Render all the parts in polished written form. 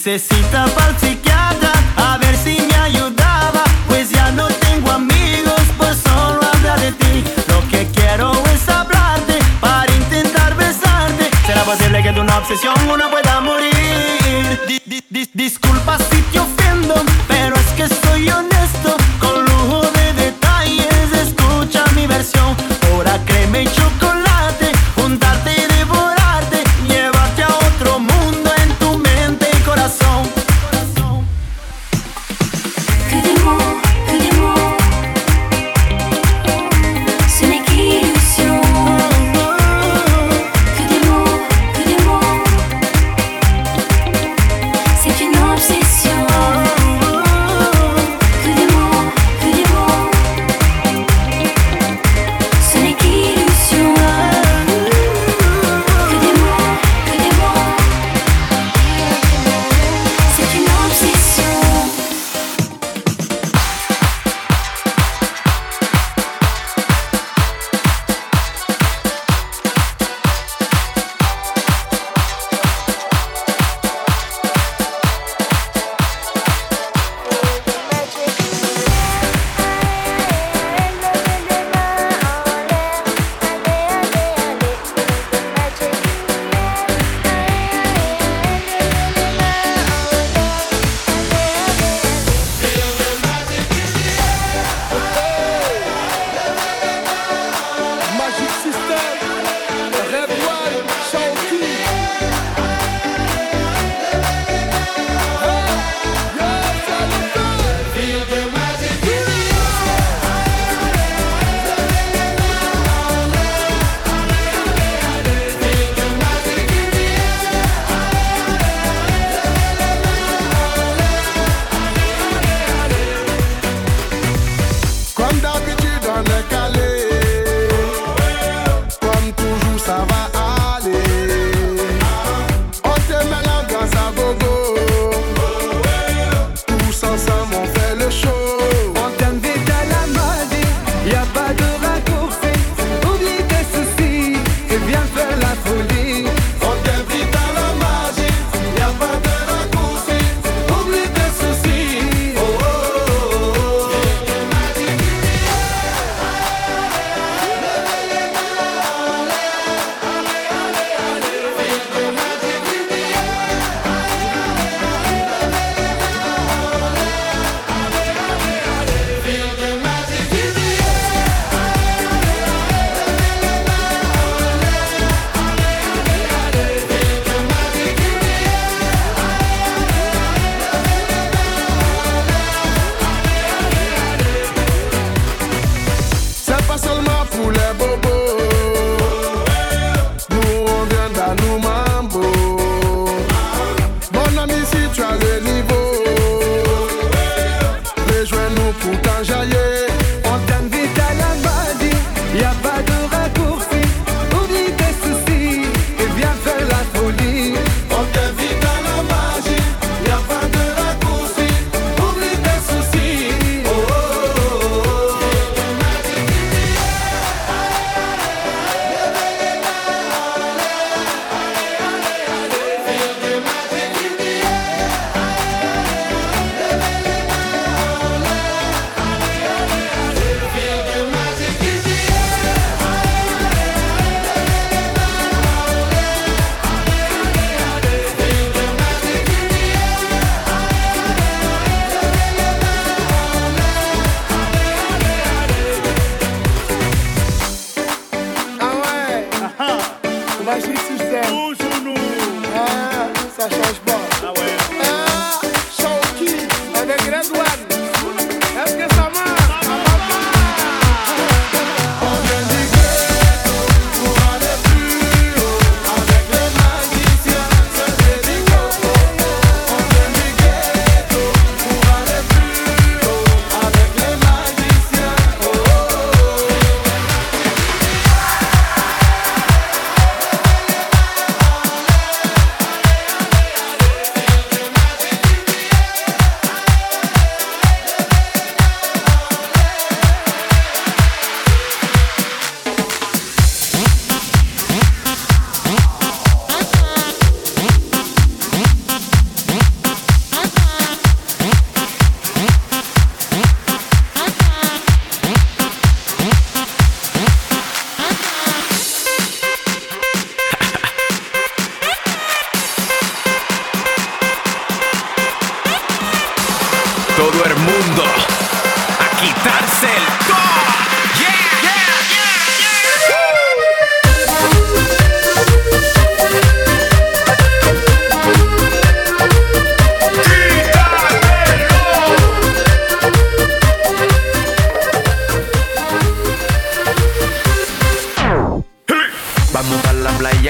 Cita pa'l psiquiatra, a ver si me ayudaba. Pues ya no tengo amigos, pues solo habla de ti. Lo que quiero es hablarte, para intentar besarte. ¿Será posible que de una obsesión uno pueda morir? Disculpa si te ofendo, pero es que soy honesto. Con lujo de detalles, escucha mi versión. Ahora créeme y chocolate, juntarte y devorarte, llevarte a otro mundo en tu mente y corazón. Que des mots, ce n'est qu'illusion. Que des mots, c'est une obsession. Que des mots, ce n'est qu'illusion. Que des mots, c'est une obsession. Magic System, Red One, Shawty. Comme d'habitude on est calé, comme toujours ça va aller. On te met l'ambiance à gogo, tous ensemble on fait le show. On t'invite à la magie, y'a pas de raccourci. Oublie tes soucis et viens faire la folie. On t'invite à la magie, y'a pas de raccourci. Oublie tes soucis. Oh, oh, oh, oh. C'est pas seulement pour les bobos. Nous on vient dans nos mambo. Mon ami, si tu as le niveau, rejoins-nous pour t'enjailler. On t'invite à la magie, y'a pas de raccourci. Oublie tes soucis et viens faire la folie. On t'invite à la magie, y'a pas de raccourci. Oublie tes soucis. Oh, oh, oh, oh.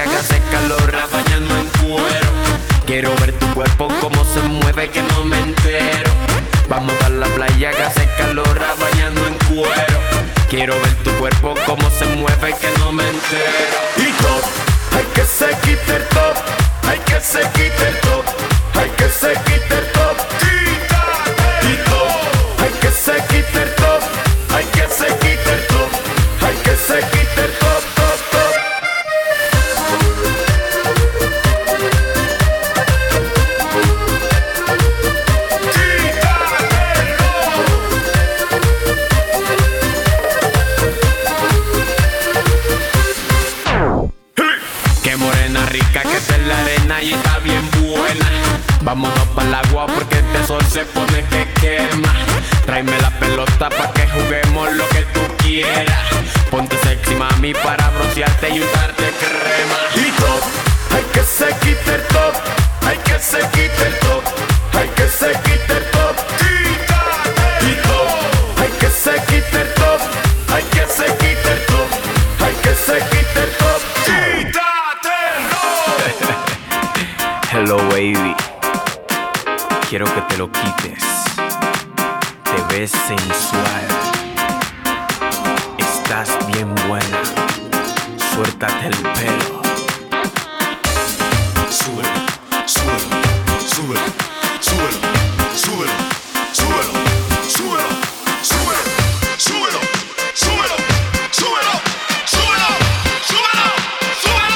playa que hace calor, bañando en cuero. Quiero ver tu cuerpo como se mueve, que no me entero. Vamos a la playa que hace calor, bañando en cuero. Quiero ver tu cuerpo como se mueve, que no me entero. Y top, hay que se quite el top, hay que se quite el top, hay que se quite el top. Y top, hay que se quite el top, hay que se quite el top, hay que se quite el top, top, top. Qué morena rica que está en la arena y está bien buena. Vámonos pa'l agua porque este sol se pone que quema. Tráeme la pelota pa' que juguemos lo que tú quieras. Ponte sexy mami para broncearte y untarte crema. Y top, hay que se quite el top, hay que se quite el top, hay que se quite el top. Y top, hay que se quite el top, hay que se quite el top, hay que se quite el top. Hello baby, quiero que te lo quites. Te ves sensual, estás bien buena. Suéltate el pelo. Súbelo, súbelo, súbelo, súbelo, súbelo, súbelo, súbelo, súbelo, súbelo, súbelo, súbelo, súbelo, súbelo, súbelo.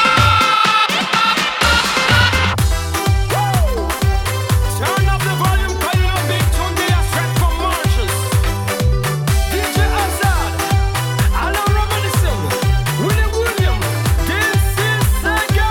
Turn up the volume, call it a big tune, they are straight from Marshalls. DJ Azad, Alan Robinson, Willie William, this is Sega.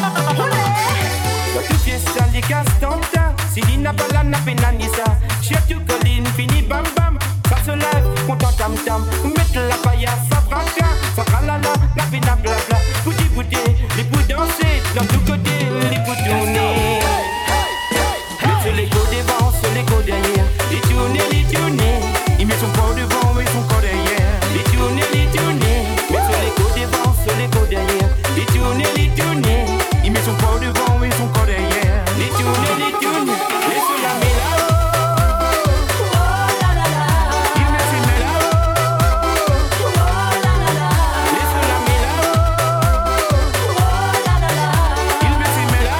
Tu fiesta li castanta, Sidina balana penanisa. Chef tu colline, fini bam bam. Ça se lève, content tam tam. Mettre la paille, ça braque, ça ralala, la pena blabla. Bouti bouti, les bouts danser, dans tout côté, les bouts tourner. Mettez les go devant, sur les go derrière. Les tourner. Il met son corps devant et son corps derrière. Les tourner. Mettez les go devant, sur les go derrière. Les tourner. Il met son corps devant et son corps derrière. Les tourner. Laisse la méla. Il met ses méla. Laisse la méla. Il met ses méla.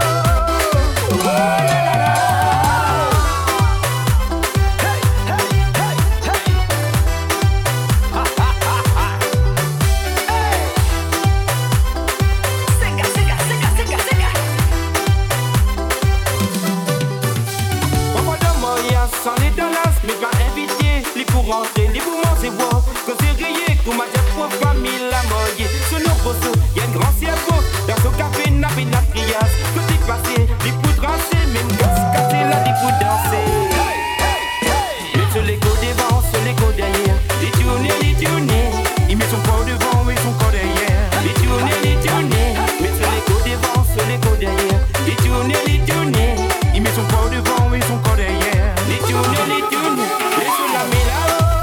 Papa de Moya sans les dollars, mais pas invité, les pour rentrer, les pour manger bois. Quand c'est rayé, qu'on m'a dit pour famille la moye. Sur nos poteaux, y'a un grand cerveau, dans son café, n'a pas de trias. Côté passé, les pour trancher, même gosse cassé, là, les pour danser. Mais sur les go devant, sur les go derrière, les tourner. Il met son corps devant et son corps derrière. Les tourner. Mais sur les go devant, sur les go derrière, les tourner. Il met son corps devant et son corps derrière. Les tourner. Laisse la méla.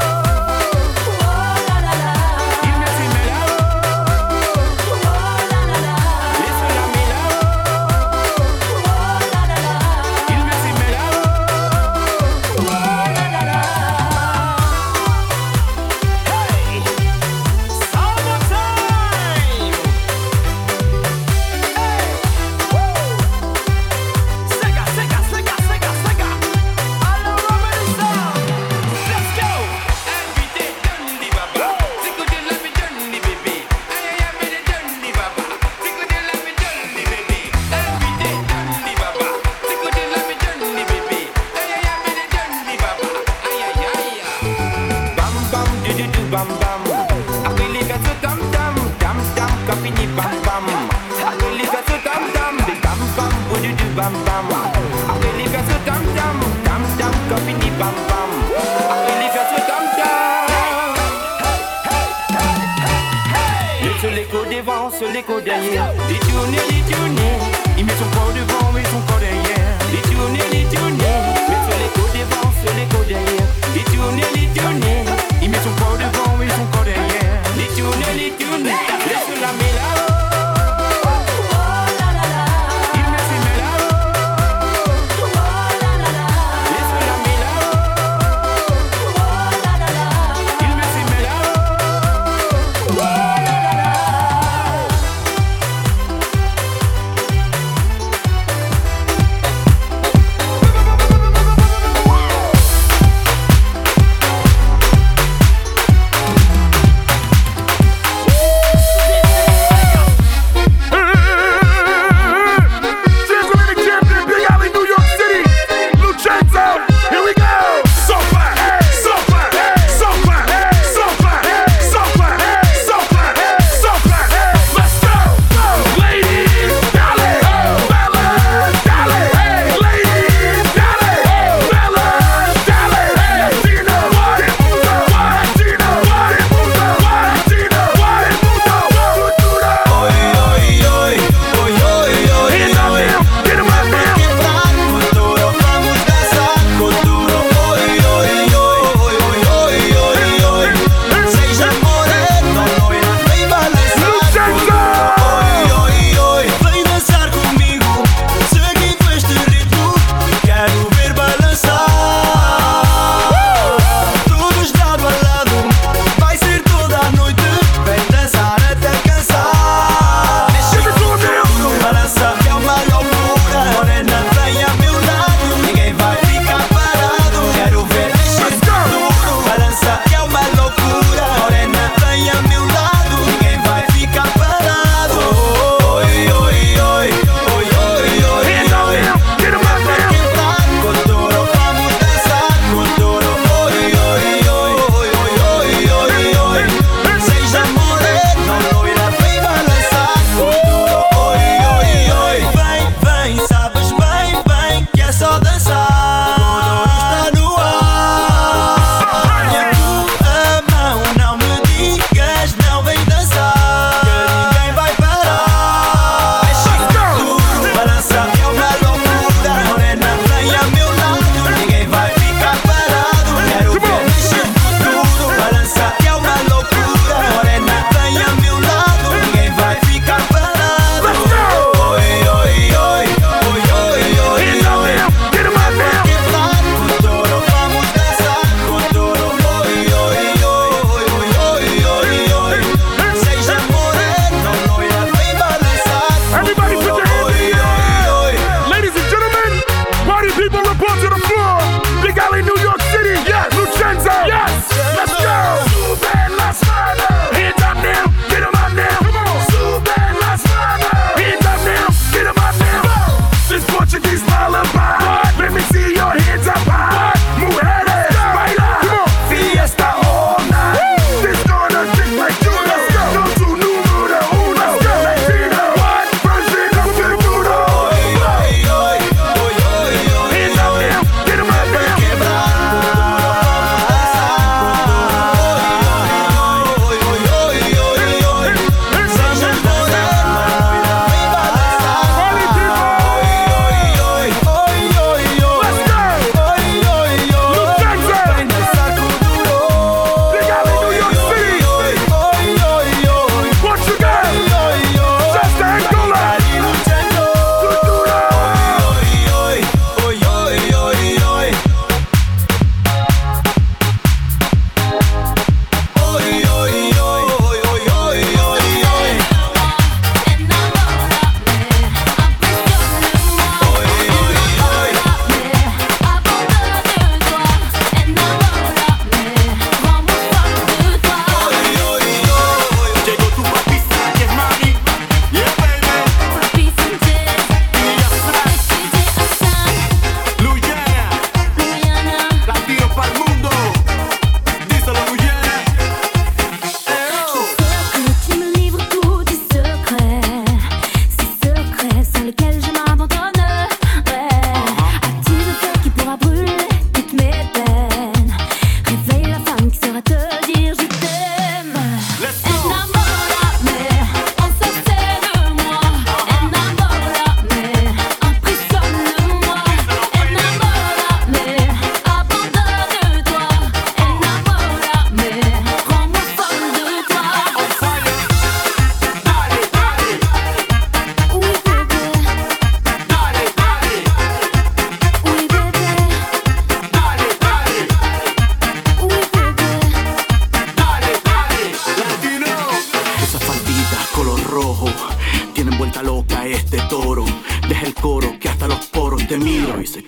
Il met ses méla. Laisse la méla. Il met ses méla. Hey! Summertime! Hey! Woo! Sega! Alan Robinson! Let's go! Invité Dundee Baba, c'est que de la vie Dundee bébé. Aïe aïe aïe Dundee Baba, c'est que de la vie Dundee bébé. Invité Dundee Baba, c'est que de la vie Dundee bébé. Aïe aïe aïe Dundee Baba, aïe aïe aïe. Bam bam du bam bam. Après les gars tam tam, quand fini bam bam. Après les gars tam tam, des bam bam du bam bam. Après les gars tam tam, quand fini bam bam. Après les gars tam tam. Sur les côtes devant, sur les côtes derrière. Les tourner. Il met son corps devant et son corps derrière. Les tourner. Mais sur les côtes devant, sur les côtes derrière. Les tourner. Il met son corps devant et son corps derrière. Les tourner. Laisse la méla.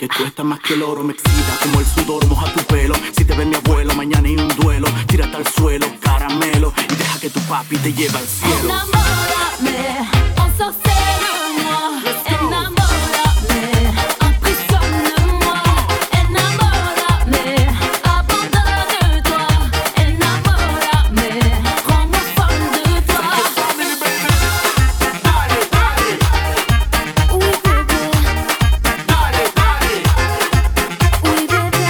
que cuesta más que el oro. Me excita como el sudor, moja tu pelo. Si te ve mi abuelo, mañana hay un duelo. Tírate al suelo, caramelo, y deja que tu papi te lleve al cielo. Enamórame, ensorcelle-moi. Enamórame, impressionne-moi. Enamórame, abandonne-toi. Enamórame, rends-moi folle de toi. Oui bébé, oui bébé,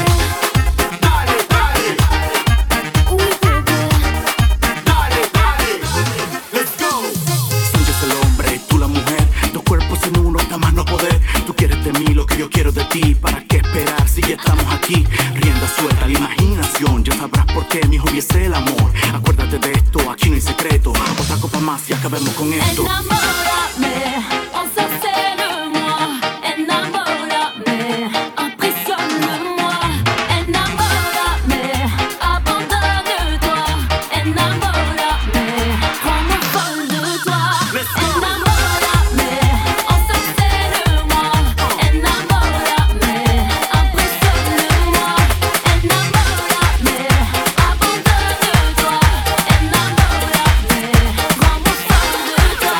oui bébé. Sancho es el hombre, tú la mujer. Dos cuerpos en uno, nada más no poder. Tú quieres de mí lo que yo quiero de ti. ¿Para qué esperar si ya estamos aquí? Rienda suelta la imaginación. Ya sabrás por qué, mi hijo, es el amor. Acuérdate de esto, aquí no hay secreto. Otra copa más y acabemos con esto. Enamórame, ensorcelle-moi. Enamórame, impressionne-moi. Enamórame, abandonne-toi. Enamórame, rends-moi folle de toi. Enamórame, ensorcelle-moi. Enamórame, impressionne-moi. Enamórame, abandonne-toi. Enamórame, rends-moi folle de toi.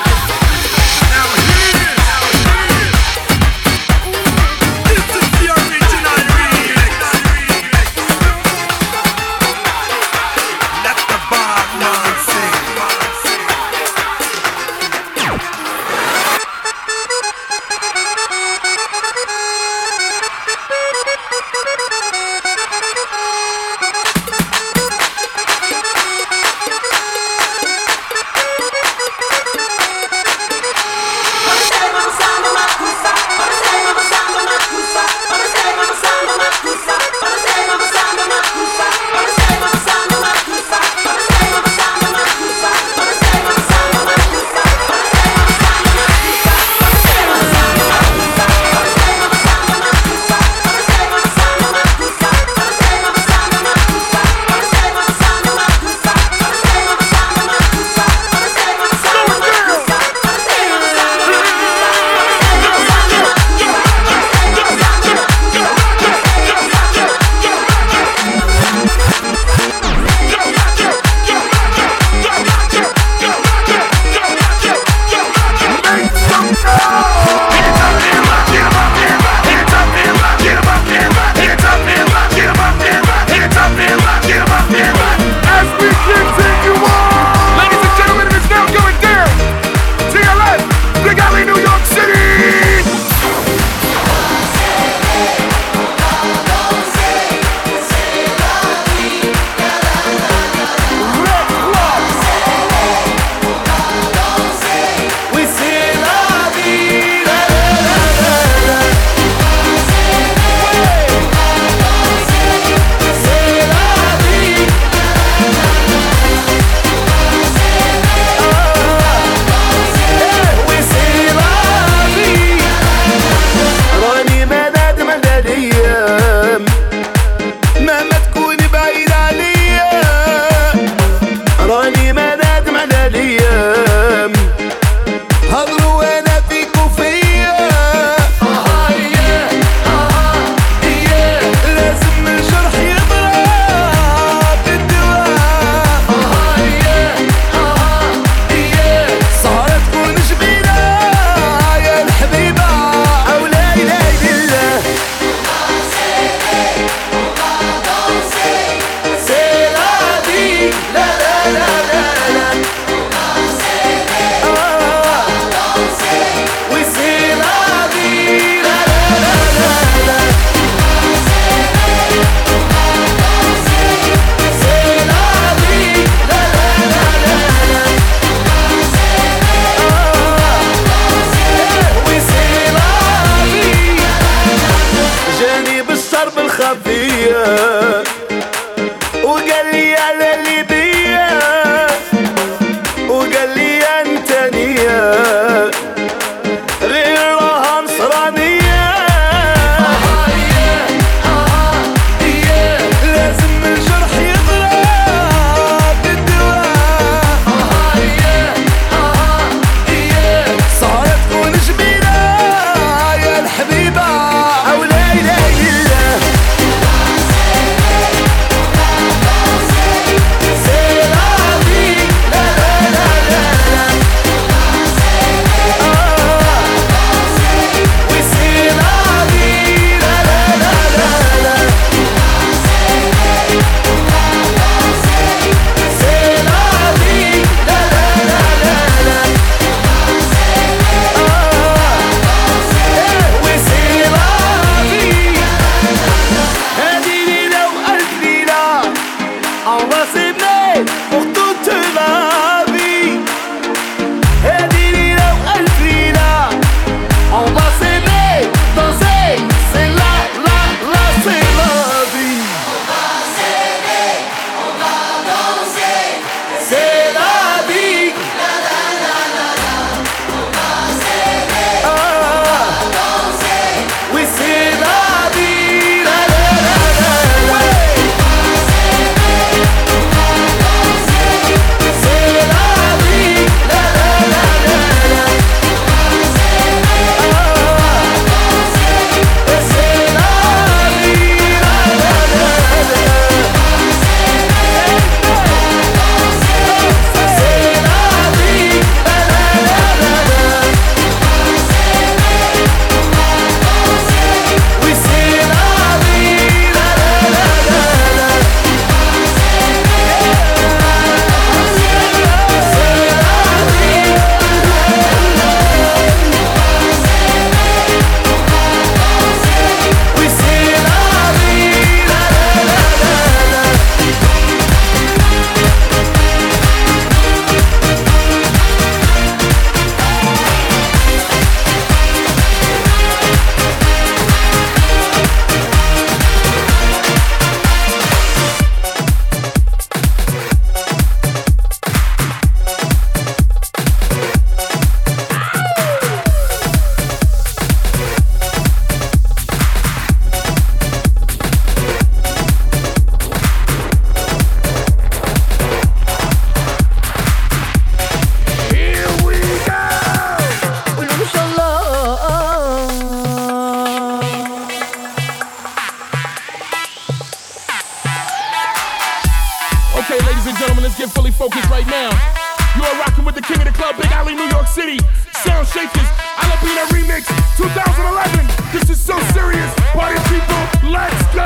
صارت تكون جميلة يا الحبيبة أو ليلى On va s'aimer pour toute la vie. Et dis-le, Elvira, on va s'aimer, danser, c'est la, c'est la vie. On va s'aimer, on va danser, c'est la vie. La la la la la. On va s'aimer, on va danser, oui c'est la vie. La la la la la. On va s'aimer, on va danser, c'est la vie. La la la la la. On va s'aimer, on va danser, c'est la vie. La la la la. Okay, ladies and gentlemen, let's get fully focused right now. You are rocking with the king of the club, Big Ali, New York City. Sound Shakers, Alabina Remix, 2011. This is so serious. Party people, let's go!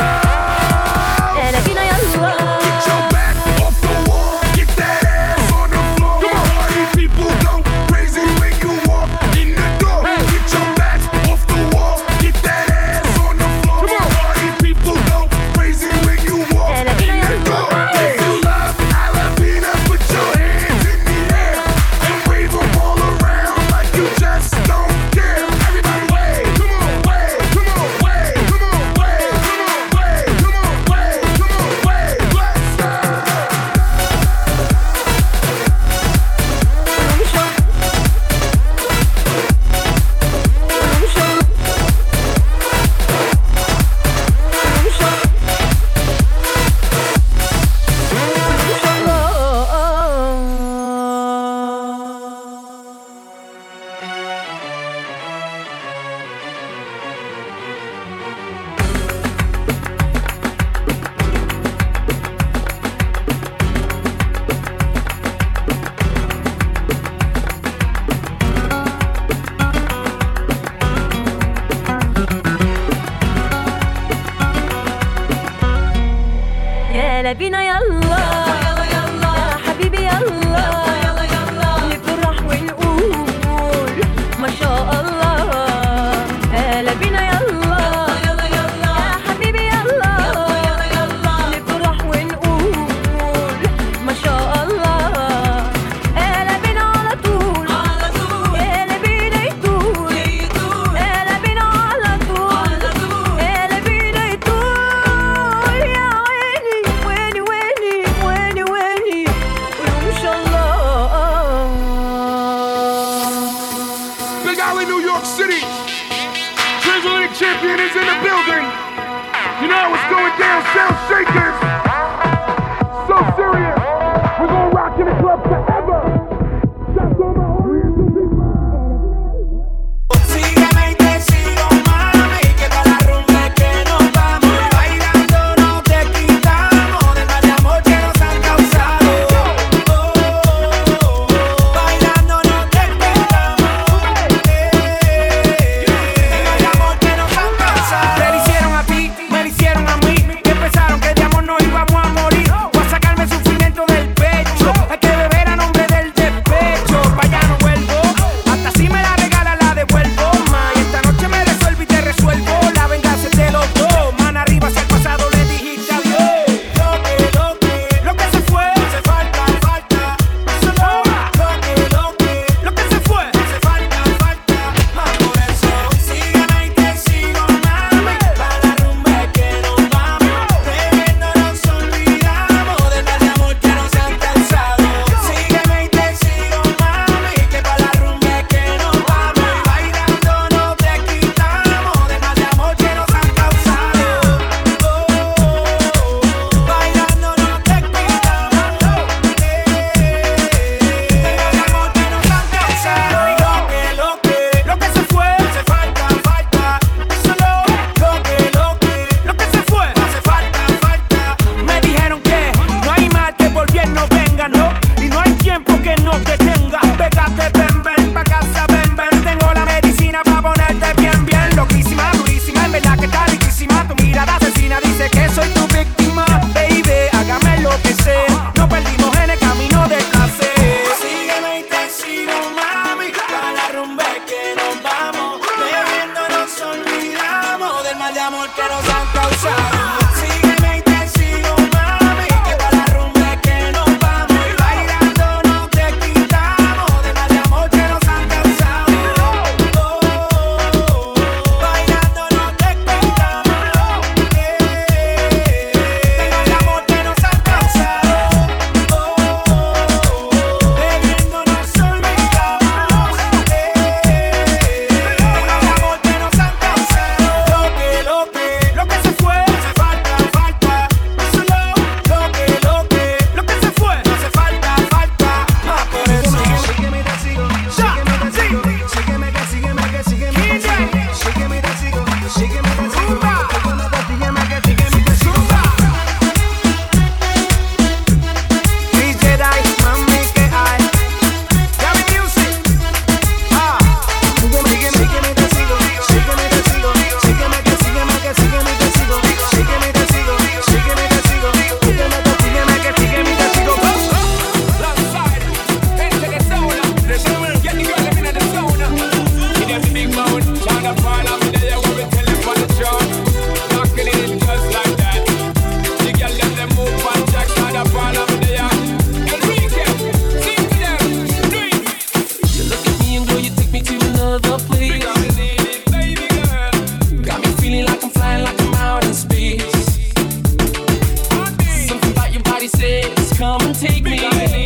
Get your back off the wall, get that ass on the floor. Come on, party people, go crazy when you walk in the door. Get your back off the wall, get that ass on the floor. Come on, party people, go crazy when you walk in the door. If you love Alabina, put your hands in the air and wave them all around like you just don't care. Everybody wave, come on, wave, come on, wave, come on, wave, come on, wave, come on, wave, come on, wave, let's go. يا لبينا يلا يا حبيبي يلا نفرح ونقول ما شاء الله يا لبينا يلا يا حبيبي يلا نفرح ونقول ما شاء الله يا لبينا على طول يا لبينا يطول يا لبينا على طول يا لبينا يطول يا ويني ويني قولوا ما شاء الله. Big Ali, New York City. Transatlantic champion is in the building. You know what's going down, Sound Shakers. So serious. We're gonna rock in the club forever. Shout to my Oriental people. Sígueme y te sigo, mami, que toda la rumba es que nos vamos. Bailando no te quitamos de mal amor que nos han causado. Bailando no te quitamos de mal amor que nos han causado. Te lo hicieron a ti, me lo hicieron a mí. Que pensaron que de amor nos íbamos a morir. Voy a sacarme el sufrimiento del pecho. Es que beber a no please come and take me.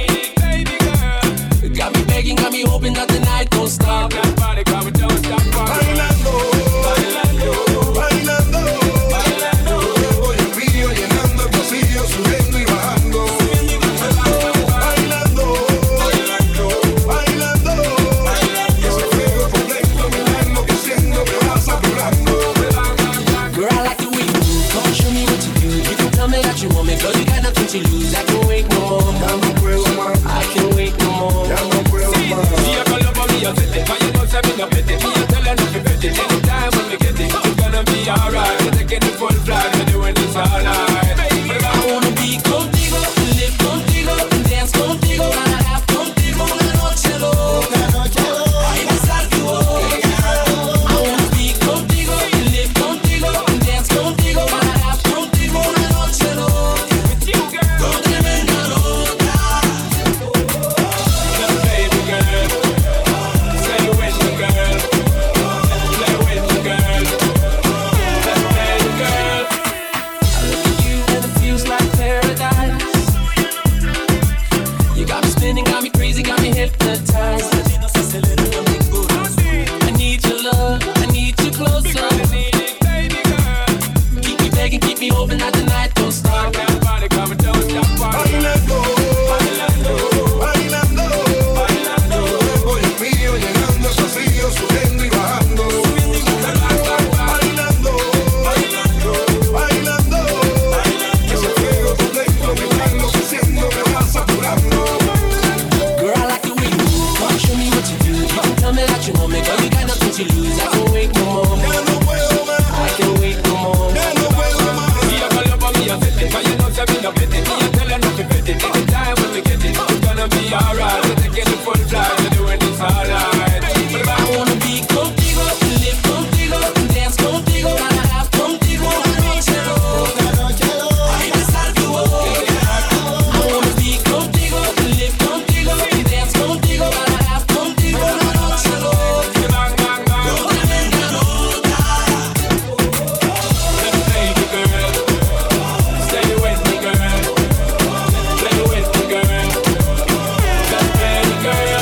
Got me begging, got me hoping that the night don't stop. That body coming, don't stop. Bailando, bailando, bailando, bailando. Voy el río llenando el pasillo, subiendo y bajando. Bailando, bailando, bailando, bailando. Ese fuego por dentro me va enloqueciendo, me va saturando. Girl, I like the way you move. Come on, show me what you do. You can tell me that you want me, girl, you got nothing to lose. I can't wait no more. I can't wait no more. See, I call up on me, I'll set it. But you know, say me no pity. Me, I tell her not to bet it. Anytime when we get it, it's gonna be alright. We're taking the full flight, we're doing this all night. I wanna be contigo, live contigo, dance contigo, wanna have contigo una noche loca. Ay, besar tu boca. I wanna be contigo, live contigo, dance contigo, wanna have contigo una noche loca. With you, girl. Con tremenda loca. Baby girl, stay with me, girl. Play with me, girl. Baby girl. I look at you and it feels like paradise. You got me spinning, got me crazy, got me hypnotized. I need your love, I need you closer. Keep me begging, keep me hoping that the night don't stop. Bailando, bailando, bailando, bailando. Voy el mío llenando el pasillo, subiendo y bajando. Bailando, bailando, bailando, bailando. Ese fuego por dentro me va enloqueciendo, me va saturando. Girl, I like the way you move. Come show me what you do. You can tell me that you want me, girl, you got nothing to lose. I can't wait no more. I can't wait no more. See, I call up on me, I set it. But you know, say me no bet it. Me, I tell her not to bet it. Anytime when we get it, it's gonna be alright. We're taking the full flight, we're doing this all night. I wanna be contigo, live contigo, dance contigo, wanna have contigo una noche loca. Ay, besar tu boca. I wanna be contigo, live contigo, dance contigo, wanna have contigo una noche loca. Con tremenda loca. Baby girl, stay with me, girl. Play with me, girl. Baby girl.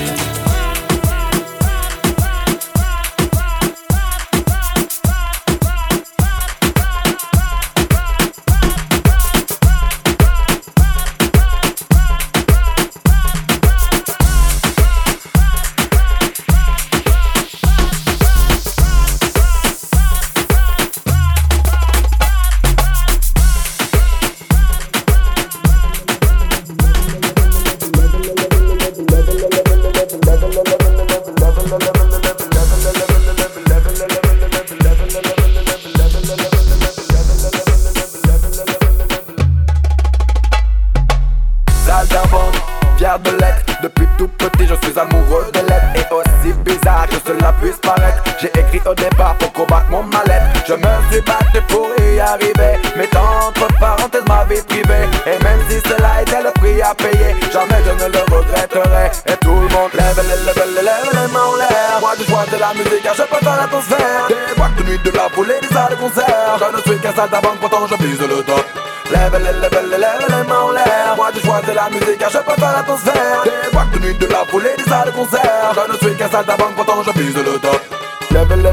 Saltimbanque, fier de l'être. Depuis tout petit je suis amoureux de l'être. Et aussi bizarre que cela puisse paraître, j'ai écrit au départ pour combattre mon mal-être. Je me suis battu pour y arriver, mettant entre parenthèses ma vie privée. Et même si cela était le prix à payer, jamais je ne le regretterai. Et tout le monde lève les mains en l'air. Moi je choisis la musique car je préfère l'atmosphère. Des boîtes de nuit, de la foule et des salles de concert. Je ne suis qu'un saltimbanque, pourtant je vise le top. Lève les mains en l'air. Moi je choisis la musique car je préfère l'atmosphère. Des boîtes de nuit, de la foule et des salles de concert. Je ne suis qu'un saltimbanque, pourtant je vise le top. Lève les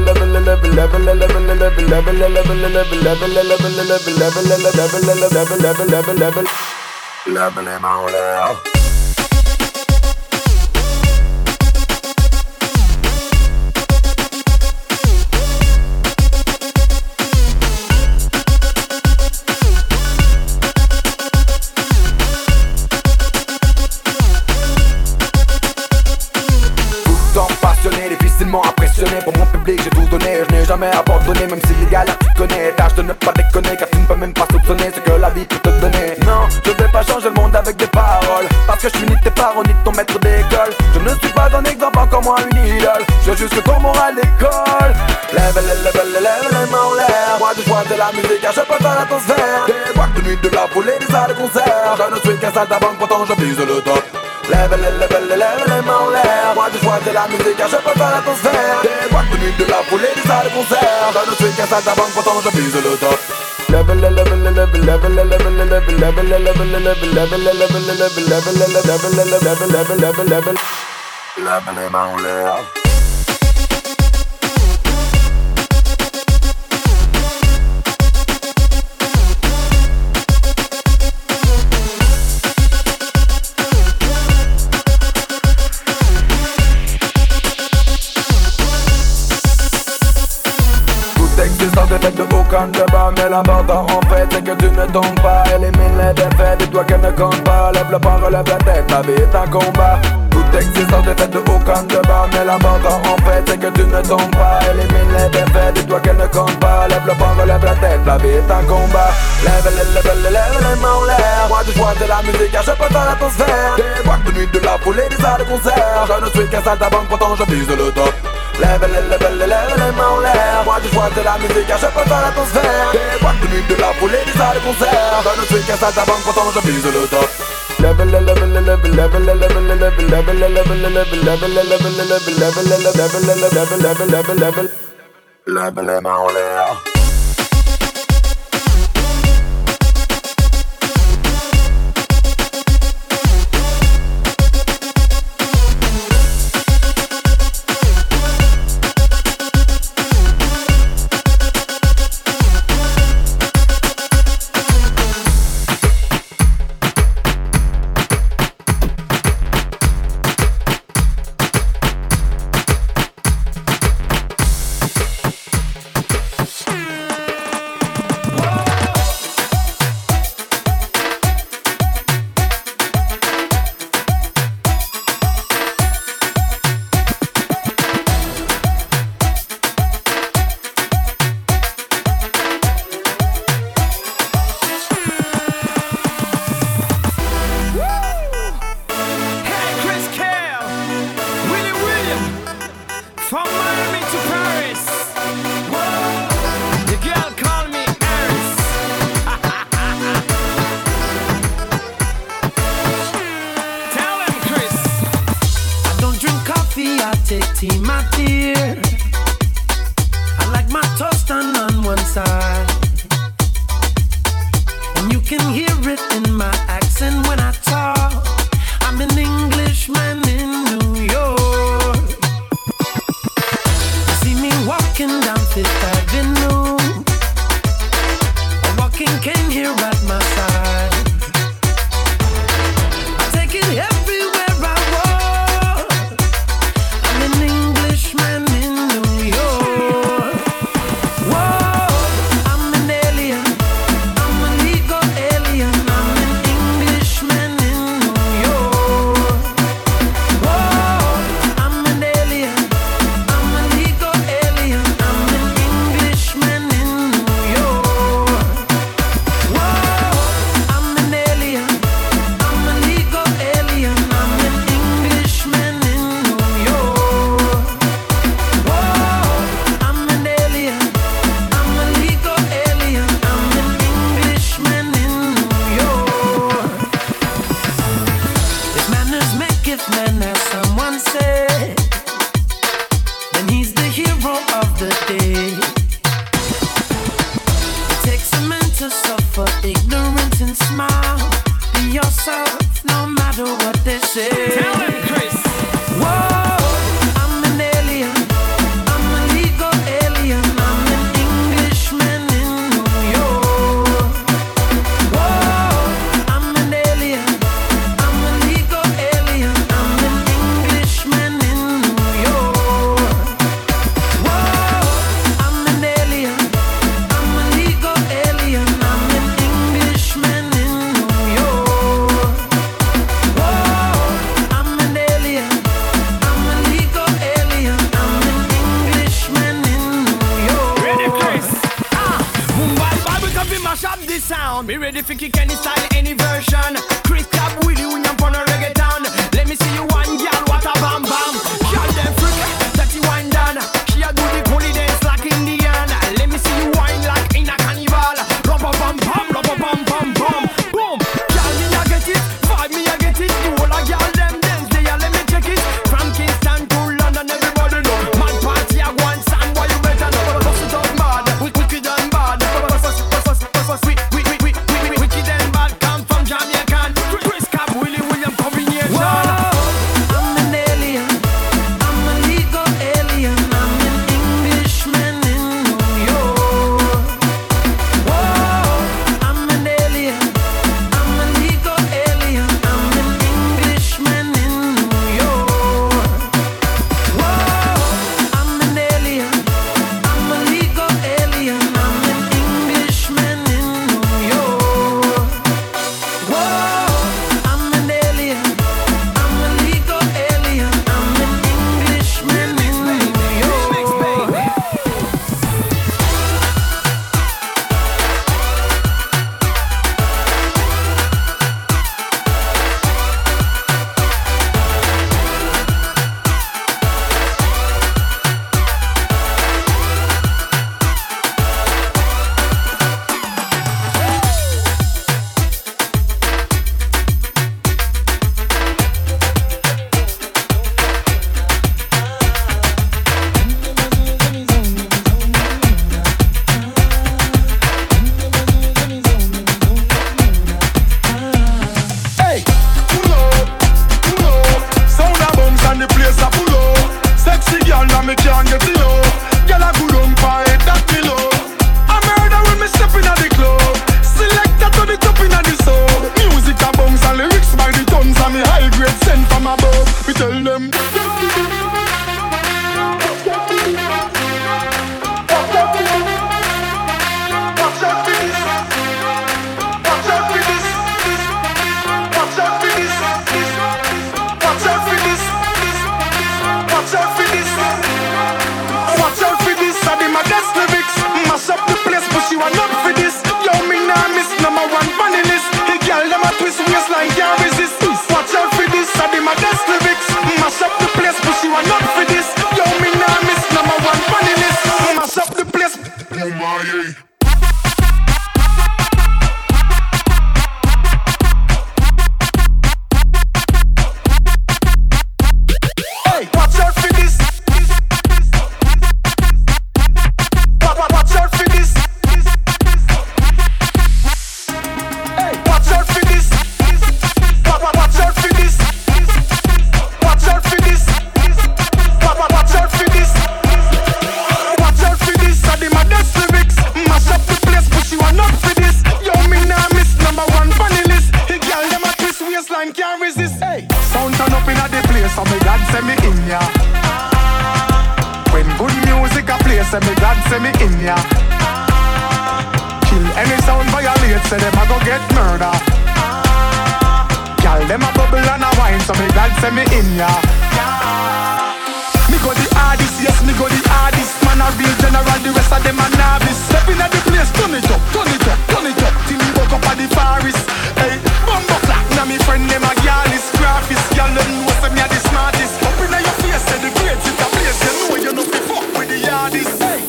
mains en l'air. Difficilement impressionné pour mon public, j'ai tout donné. Je n'ai jamais abandonné, même si les galères tu connais. Tâche de ne pas déconner, car tu ne peux même pas soupçonner ce que la vie peut te donner. Non, je vais pas changer le monde avec des paroles, parce que je suis ni tes parents ni ton maître d'école. Je ne suis pas un exemple, encore moins une idole. Je veux juste que ton moral décolle. Lève les mains en l'air. Moi je choisis la musique car je préfère l'atmosphère. Des boîtes de nuit, de la foule et des salles de concert. Je ne suis qu'un saltimbanque, pourtant je vise le top. Lève les mains en l'air. Moi je choisis la musique car je préfère l'atmosphère. Des boîtes de nuit, de la foule et des salles de concert. Je ne suis qu'un saltimbanque, pourtant je vise le top. Lève les mains en l'air. Existence des fêtes de aucun débat, mais l'important en fait c'est que tu ne tombes pas. Élimine les défaites, dis-toi qu'elles ne comptent pas. Lève le poing, relève la tête, la vie est un combat. Toute existence des fêtes de aucun débat, mais l'important en fait c'est que tu ne tombes pas. Élimine les défaites, dis-toi qu'elles ne comptent pas. Lève le poing, relève la tête, la vie est un combat. Lève les mains en l'air. Moi du choix de la musique, je peux dans l'atmosphère. Des boîtes de nuit, de la foule et des salles de concert. Je ne suis qu'un saltimbanque, pourtant je vise le top. Lève les mains en l'air. Moi du choix de la musique, je peux dans l'atmosphère. Des boîtes de nuit, de la foule et des salles de concert. Je ne suis qu'un saltimbanque, pourtant je vise le top. Lève les mains en l'air. me can't get it low. Girl a good on fire, that me low. I murder when me step in the club. Selector to the top in the soul. Music a bounce and lyrics by the tons. And me high grade sent from above. We tell them. You are not for this. Yo, me nah miss number one funny list. The girl them a twist waistline can't resist. Watch out for this, I my best lyrics. Mash up the place, but you are not for this. Yo, me nah miss number one funny list. Mash up the place. Oh my. Say them a go get murder. Y'all them a bubble and a wine, so me glad say me in ya. Me go the hardest, yes me go the hardest. Man a real general, the rest of them a novice. Step in at the place, turn it up, turn it up, turn it up. Till me woke up at the forest. Hey, bumbo clap, now me friend them a gyalis, graphist. Y'all don't know say me a the smartest. Up in your face, say the greats in the place. You know you know fi fuck with the hardest. Hey.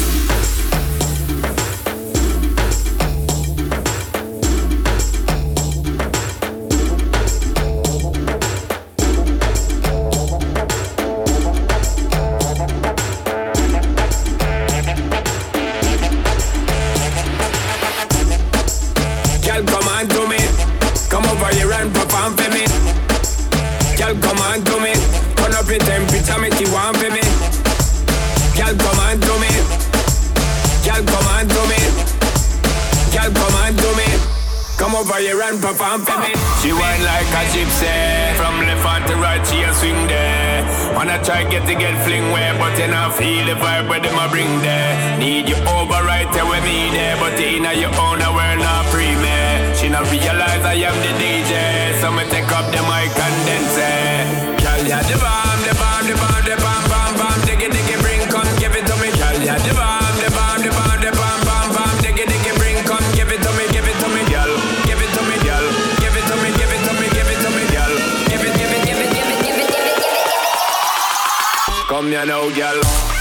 Temperature make you want for me. Girl, come on to me. Girl, come on to me. Girl, come on to me. Come over here and perform for me. She whine like a gypsy. From left hand to right, she a swing there. Wanna try get fling where, but you not feel the vibe where them a bring there. Need you over right there with me there, but in your own world not free me. She not realize I am the DJ, so me take up the mic and then say, girl, yeah, the bomb, the bomb, the bomb, the bomb, bomb, bomb, diggy, diggy, bring, come, give it to me, girl, yeah, the bomb, the bomb, the bomb, the bomb, bomb, bomb, diggy, diggy, bring, come, give it to me, girl, give it to me, girl, give it to me, give it to me, give it to me, girl, give it, give it, give it, give it, give it, give it, give it. Come here now, girl.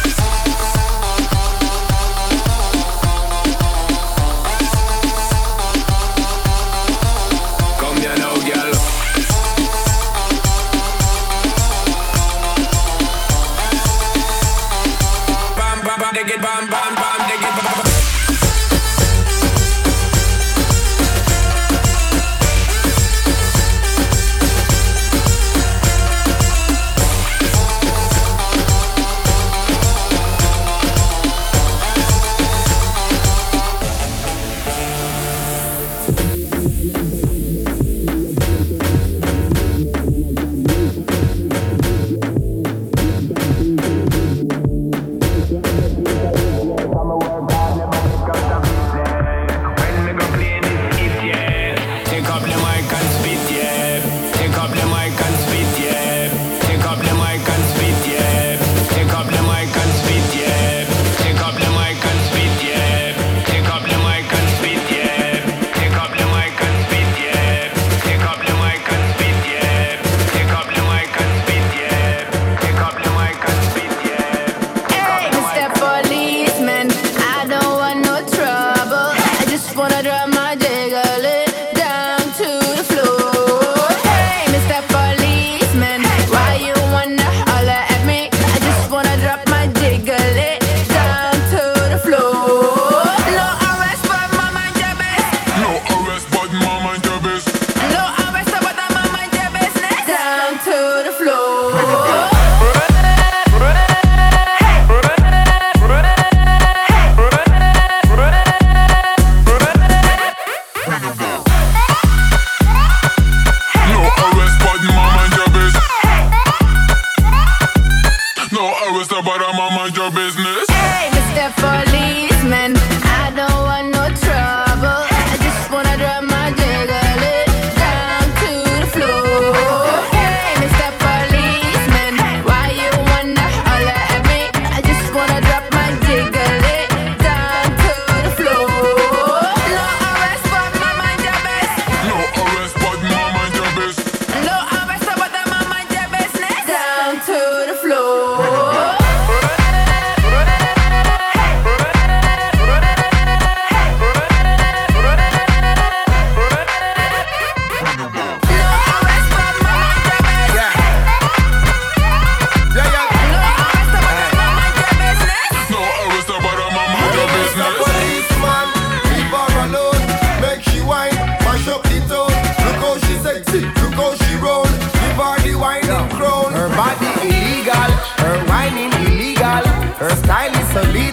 Bam, bam, bam, dig it, bam, bam.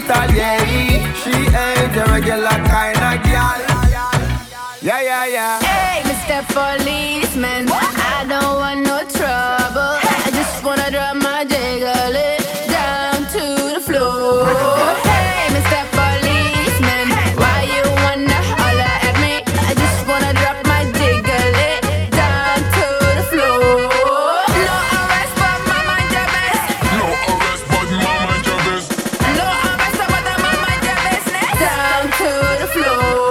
Atelier. She ain't a regular kind of girl. Yeah, yeah, yeah. Hey, Mr. Policeman, I don't want no trouble. I just wanna drop my jiggle it down to the floor. Hey, Mr. Policeman, why you wanna holler at me? I just wanna drop my jiggle it down to the floor. No arrest, but my mind your best. No arrest, but my mind your best. No arrest, but my mind your business. Down to the floor.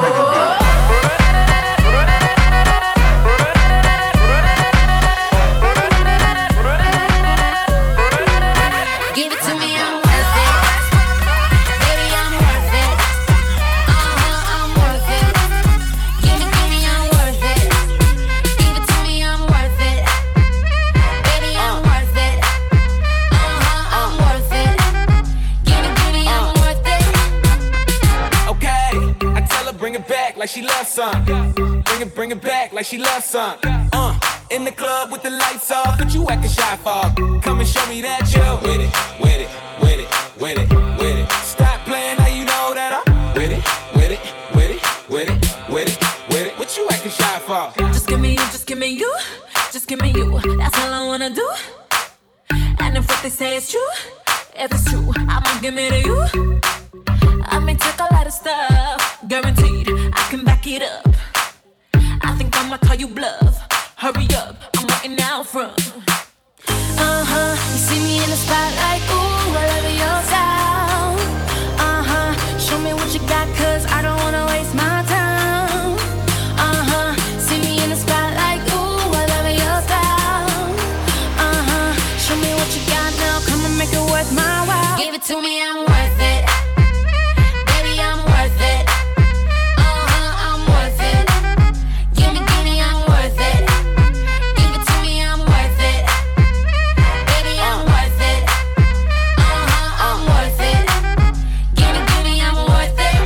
Give it to me, I'm worth it. Baby, I'm worth it. I'm worth it. Give me, I'm worth it. Give it to me, I'm worth it. Baby, I'm worth it. I'm worth it. Give me, I'm worth it. Okay, I tell her bring it back like she loves some. Bring it back like she loves some. In the club with the lights off, but you acting shy for. Come and show me that you're with it, with it, with it, with it, with it. Stop playing, now you know that I'm with it, with it, with it, with it, with it, with it. What you acting shy for? Just give me you, just give me you, just give me you. That's all I wanna do. And if what they say is true, if it's true, I'ma give it to you. I may take a lot of stuff, guaranteed I can back it up. I think I'ma call you bluff. Hurry up, I'm waiting out front. You see me in the spotlight, ooh, I love your style. Show me what you got, cause I don't wanna waste my time. See me in the spotlight, ooh, I love your style. Show me what you got now, come and make it worth my while. Give it to me, I'm worth it. Baby, I'm worth it. I'm worth it. Give me, I'm worth it. Give it to me, I'm worth it. Baby, I'm worth it. I'm worth it. Give me, I'm worth it.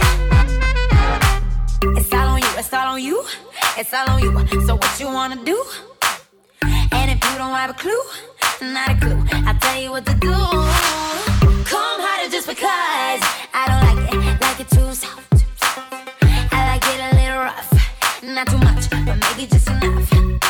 It's all on you, it's all on you, it's all on you. So what you wanna do? And if you don't have a clue, not a clue, I'll tell you what to do. Come harder just because I don't like it too soft. I like it a little rough, not too much, but maybe just enough.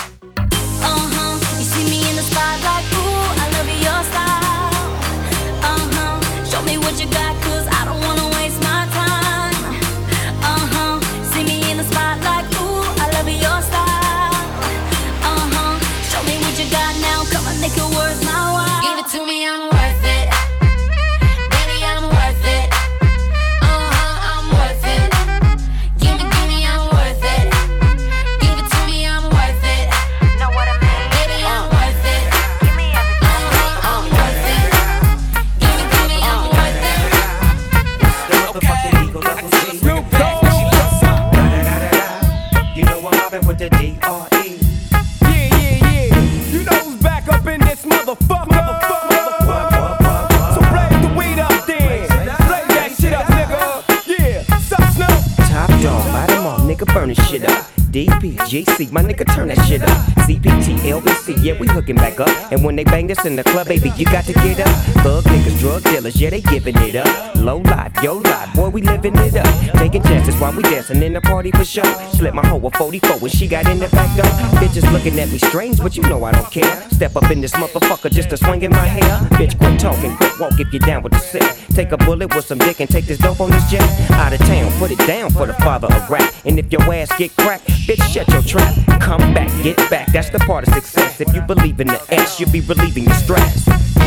You see me in the spotlight, ooh, I love your style. Show me what you got, cause I don't wanna waste my time. See me in the spotlight, ooh, I love your style. Show me what you got now, come on, make it worth my while. Give it to me, I'm worth it. Baby, I'm worth it. I'm worth it. Give me, I'm worth it. Give it to me, I'm worth it. Know what I mean? Baby, I'm worth it. Give me everything. I'm worth it. Give me, I'm worth it. Snoop Dogg. You know I'm mobbing with the D.R.E. Yeah. You know who's back up in this motherfucker. So blaze the weed up then. Blaze that shit up, nigga. Yeah. Sup, Snoop? Top dog, light 'em off, nigga, burn this shit up. DPGC, my nigga, turn that shit up. CPT, LBC, yeah, we hooking back up. And when they bang this in the club, baby, you got to get up. Thug niggas, drug dealers, yeah, they giving it up. Low life, yo life, boy, we living it up. Taking chances while we dancing in the party for sure. Slip my hoe a 44 when she got in the back door. Bitches looking at me strange, but you know I don't care. Step up in this motherfucker just to swing in my hair. Bitch, quit talking, quit walk if you're down with the sick. Take a bullet with some dick and take this dope on this jet. Out of town, put it down for the father of rap. And if your ass get cracked, bitch, shut your trap. Come back, get back, that's the part of success. If you believe in the S, you'll be relieving your stress.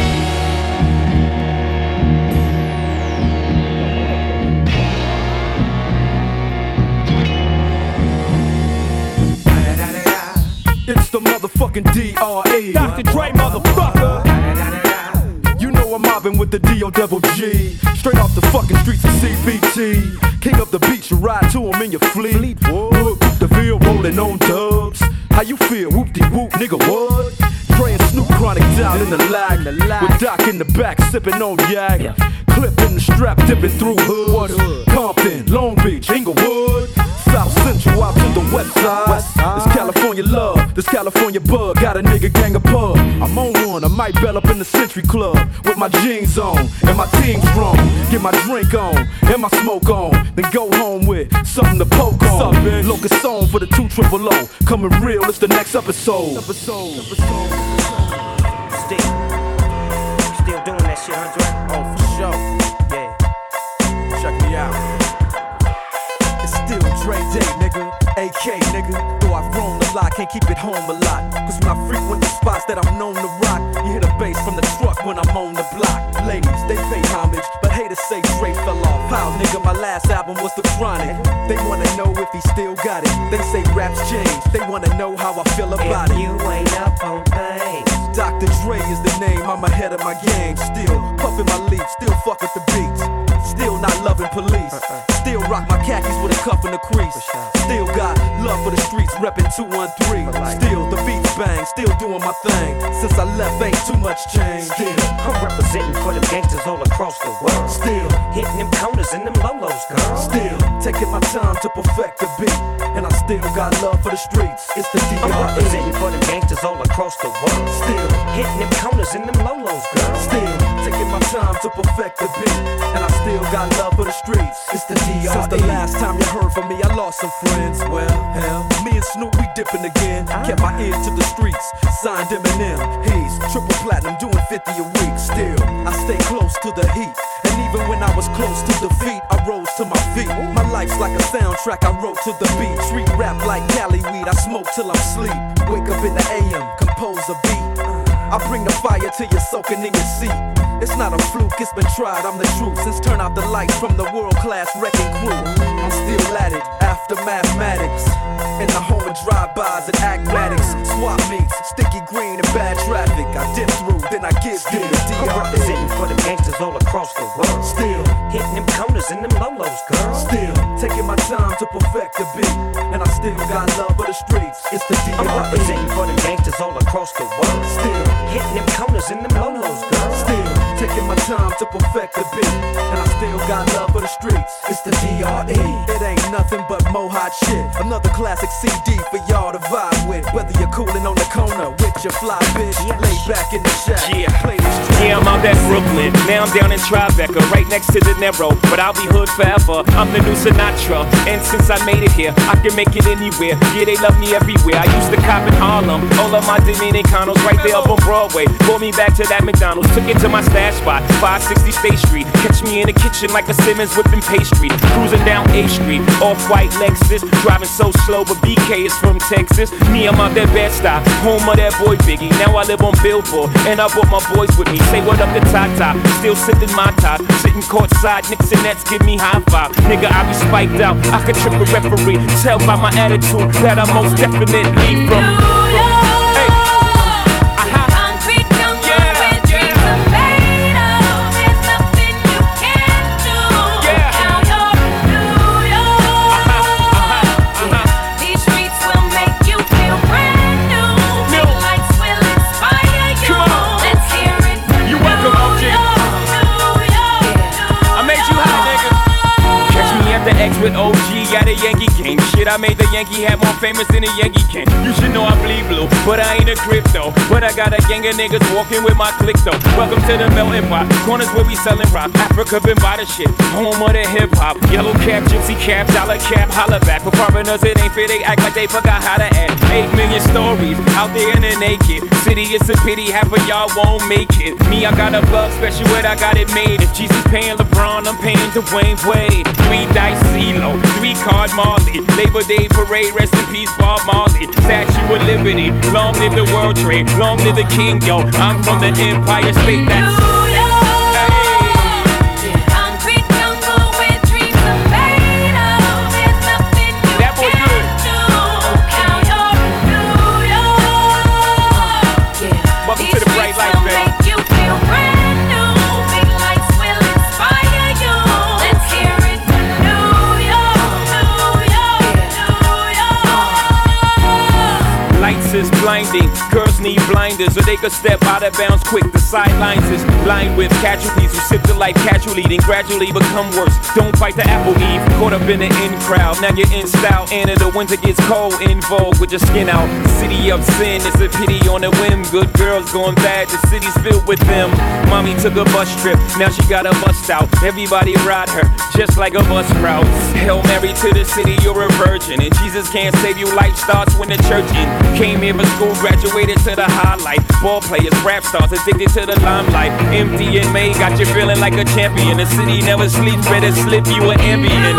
It's the motherfucking D.R.E. Dr. Dre, motherfucker. You know I'm mobbing with the D.O. Double G. Straight off the fucking streets of CBT. King of the beach, you ride to him in your fleet. Look, the Ville rolling on dubs. How you feel? Whoop-de-whoop, nigga, what? Dre and Snoop Chronic down in the lag. With Doc in the back, sipping on yak. Clipping the strap, dipping through hood. Compton, Long Beach, Inglewood, South Central out to the west side. It's California love, this California bug. Got a nigga gang of pub. I'm on one, I might bell up in the Century Club with my jeans on and my team strong. Get my drink on and my smoke on, then go home with something to poke on. Locust song for the 2 triple O. Coming real, it's the next episode. Still doing that shit, Andre? Oh, for sure. Yeah. Check me out. It's still Dre Day, nigga. AK, nigga. Though I've grown a lot, can't keep it home a lot. Cause when I frequent the spots that I'm known to rock, you hear the bass from the truck when I'm on the block. Ladies, they pay homage, but haters say Dre fell off. How, nigga, my last album was The Chronic. They wanna know if he still got it. They say raps change, they wanna know how I feel about it. You ain't up on things. Dr. Dre is the name, I'm ahead of my game. Still puffin' my leaf, still fuck with the beats. Still not loving police. Still rock my khakis with a cuff in the crease. Still got love for the streets, reppin' 213. Still the beats bang, still doing my thing. Since I left, ain't too much change. Still, I'm representing for them gangsters all across the world. Still hitting them corners and them lolos, girl. Still taking my time to perfect the beat, and I still got love for the streets. It's the DRE. I'm representing for them gangsters all across the world. Still hitting them corners and them lolos, girl. Still taking my time to perfect the beat, and I still got love for the streets. It's the DRE. Since the last time you heard from me, I lost some friends. Well, hell, me and Snoop, we dipping again. Kept my ear to the streets, signed Eminem. He's triple platinum, doing 50 a week. Still, I stay close to the heat, and even when I was close to defeat, I rose to my feet. My life's like a soundtrack, I wrote to the beat. Street rap like Cali weed, I smoke till I'm sleep. Wake up in the AM, compose a beat. I bring the fire till you're soaking in your seat. It's not a fluke, it's been tried, I'm the truth. Since turn out the lights from the world-class wrecking crew, I'm still at it, after mathematics. In the home of drive-bys and acmatics. Swap meets, sticky green and bad traffic. I dip through, then I get through the DRE. I'm representing for them gangsters all across the world. Still hitting them corners and them lolos, girl. Still taking my time to perfect the beat, and I still got love for the streets. It's the DRE. I'm representing for them gangsters all across the world. Still hitting them corners and them lolos, girl. Still taking my time to perfect the beat, and I still got love for the streets. It's the DRE. It ain't nothing but mo hot shit. Another classic CD for y'all to vibe with. Whether you're coolin' on the corner with your fly bitch, lay back in the shack. Play this track. Yeah, I'm out at Brooklyn. Now I'm down in Tribeca, right next to De Niro. But I'll be hood forever. I'm the new Sinatra, and since I made it here, I can make it anywhere. Yeah, they love me everywhere. I used to cop in Harlem. All of my Dominicanos right there up on Broadway. Brought me back to that McDonald's. Took it to my stash spot, 560 State Street. Catch me in the kitchen like a Simmons whipping pastry. Cruising down A Street, off-white Lexus. Driving so slow, but BK is from Texas. Me, I'm out there Bed-Stuy, home of that boy Biggie. Now I live on Billboard, and I brought my boys with me. Say what up to Tata, still sipping my top. Sitting courtside, Knicks and Nets give me high five. Nigga, I be spiked out, I could trip a referee. Tell by my attitude that I'm most definitely from. With OG at a Yankee game. Shit, I made the Yankee hat more famous than a Yankee can. You should know I bleed blue, but I ain't a crypto. But I got a gang of niggas walking with my click though. Welcome to the melting pot. Corners where we sellin' rock. Africa been by the shit. Home of the hip hop. Yellow cap, gypsy cap, dollar cap, holla back. For foreigners it ain't fair, they act like they forgot how to act. 8 million stories out there in the naked city. It's a pity half of y'all won't make it. Me, I got a plug special, but I got it made. If Jesus paying LeBron, I'm paying Dwayne Wade. 3 dice CeeLo, 3 card Marley. Labor Day parade, rest in peace Bob Marley. Statue of Liberty, long live the World Trade, long live the King, yo. I'm from the Empire State, that's blinding. Girls need blinders, or they could step out of bounds quick. The sidelines is lined with casualties who sip the life casually, then gradually become worse. Don't fight the apple eve, caught up in the in crowd. Now you're in style, and in the winter gets cold, in vogue with your skin out. City of sin, it's a pity on a whim. Good girls going bad, the city's filled with them. Mommy took a bus trip, now she got a bust out. Everybody ride her, just like a bus route. Hail Mary to the city, you're a virgin, and Jesus can't save you. Life starts when the church in. Came here for school, graduated to the highlight. Ball players, rap stars, addicted to the limelight. Empty and May got you feeling like a champion. The city never sleeps, better slip you an ambient.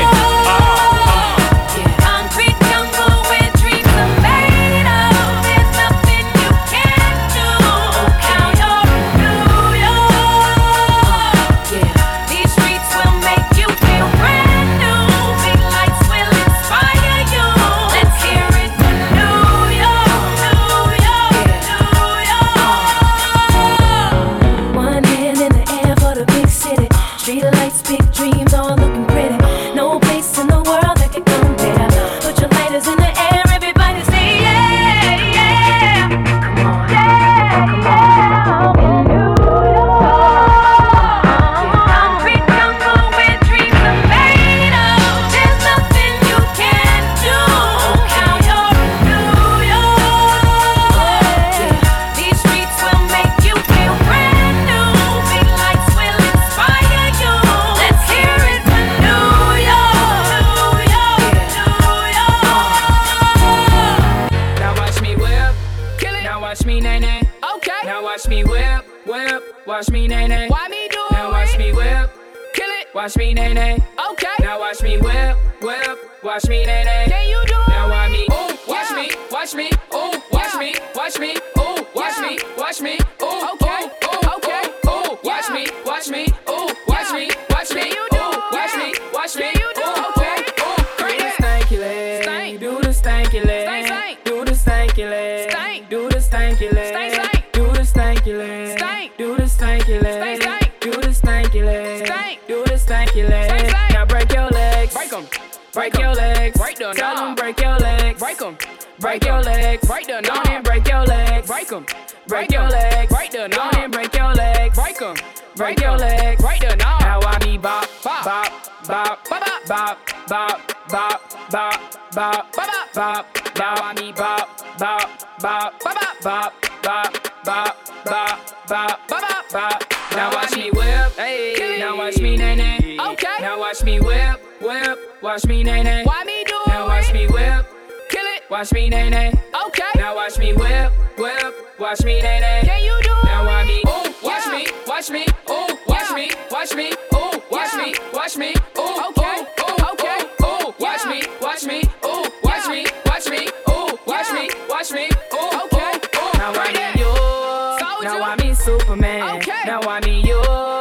Watch me, nay, nay. Why me do it? Now watch me whip. Kill it. Watch me, nay, nay. Okay. Now watch me whip, whip. Watch me, nay, nay. Can you do it? Now watch me. Ooh, watch me, watch me. Ooh, watch me, watch me. Ooh, watch me, watch me. Ooh, okay, okay. Ooh, watch me, watch me. Ooh, watch me, watch me. Ooh, watch me, watch me. Ooh, okay. Do the stanky leg. Do the stanky leg. Do the stanky leg. Do the stanky leg. Do the stanky leg. Do the stanky leg. Do the stanky leg. Do the stanky leg. Now break your legs. Break them. Break your legs. Tell them break your legs. Break them. Break your legs. Don't even break your legs. Break them. Break your legs. Don't even break your legs. Break them. Break your legs. Now I be bop, bop, bop, bop, bop, bop, bop, bop, bop, bop, bop. Now I be bop, bop, bop, bop, bop, bop, bop, bop, bop, bop, bop. Now watch me whip, hey. Now watch me nay nay. Okay. Now watch me whip, whip. Watch me nay nay. Why me do it? Now watch me whip, kill it. Watch me nay nay. Okay. Now watch me whip, whip. Watch me nay nay. Can you do it? Now watch me. Ooh, watch me, watch me. Ooh, watch me, watch me. Ooh, watch me, watch me. Ooh, okay, okay. Ooh, watch me, watch me. Ooh, watch me, watch me. Ooh, watch me, watch me. Ooh, okay. Now I need you. Now I mean Superman. Okay. Now I mean you.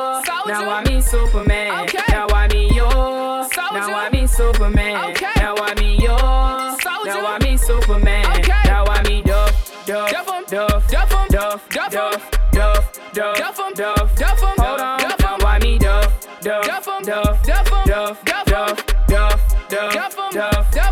Now I mean Superman. Okay. Now I mean you. Now I mean Superman. Okay. Now I mean you. Now I mean Superman. Okay. Now I mean Duff, Duff, Duff, Duff, Duff, Duff, Duff, Duff, Duff, Duff, Duff. Hold on. Now I mean Duff, Duff, Duff, Duff, Duff, Duff, Duff, Duff, Duff, Duff, Duff.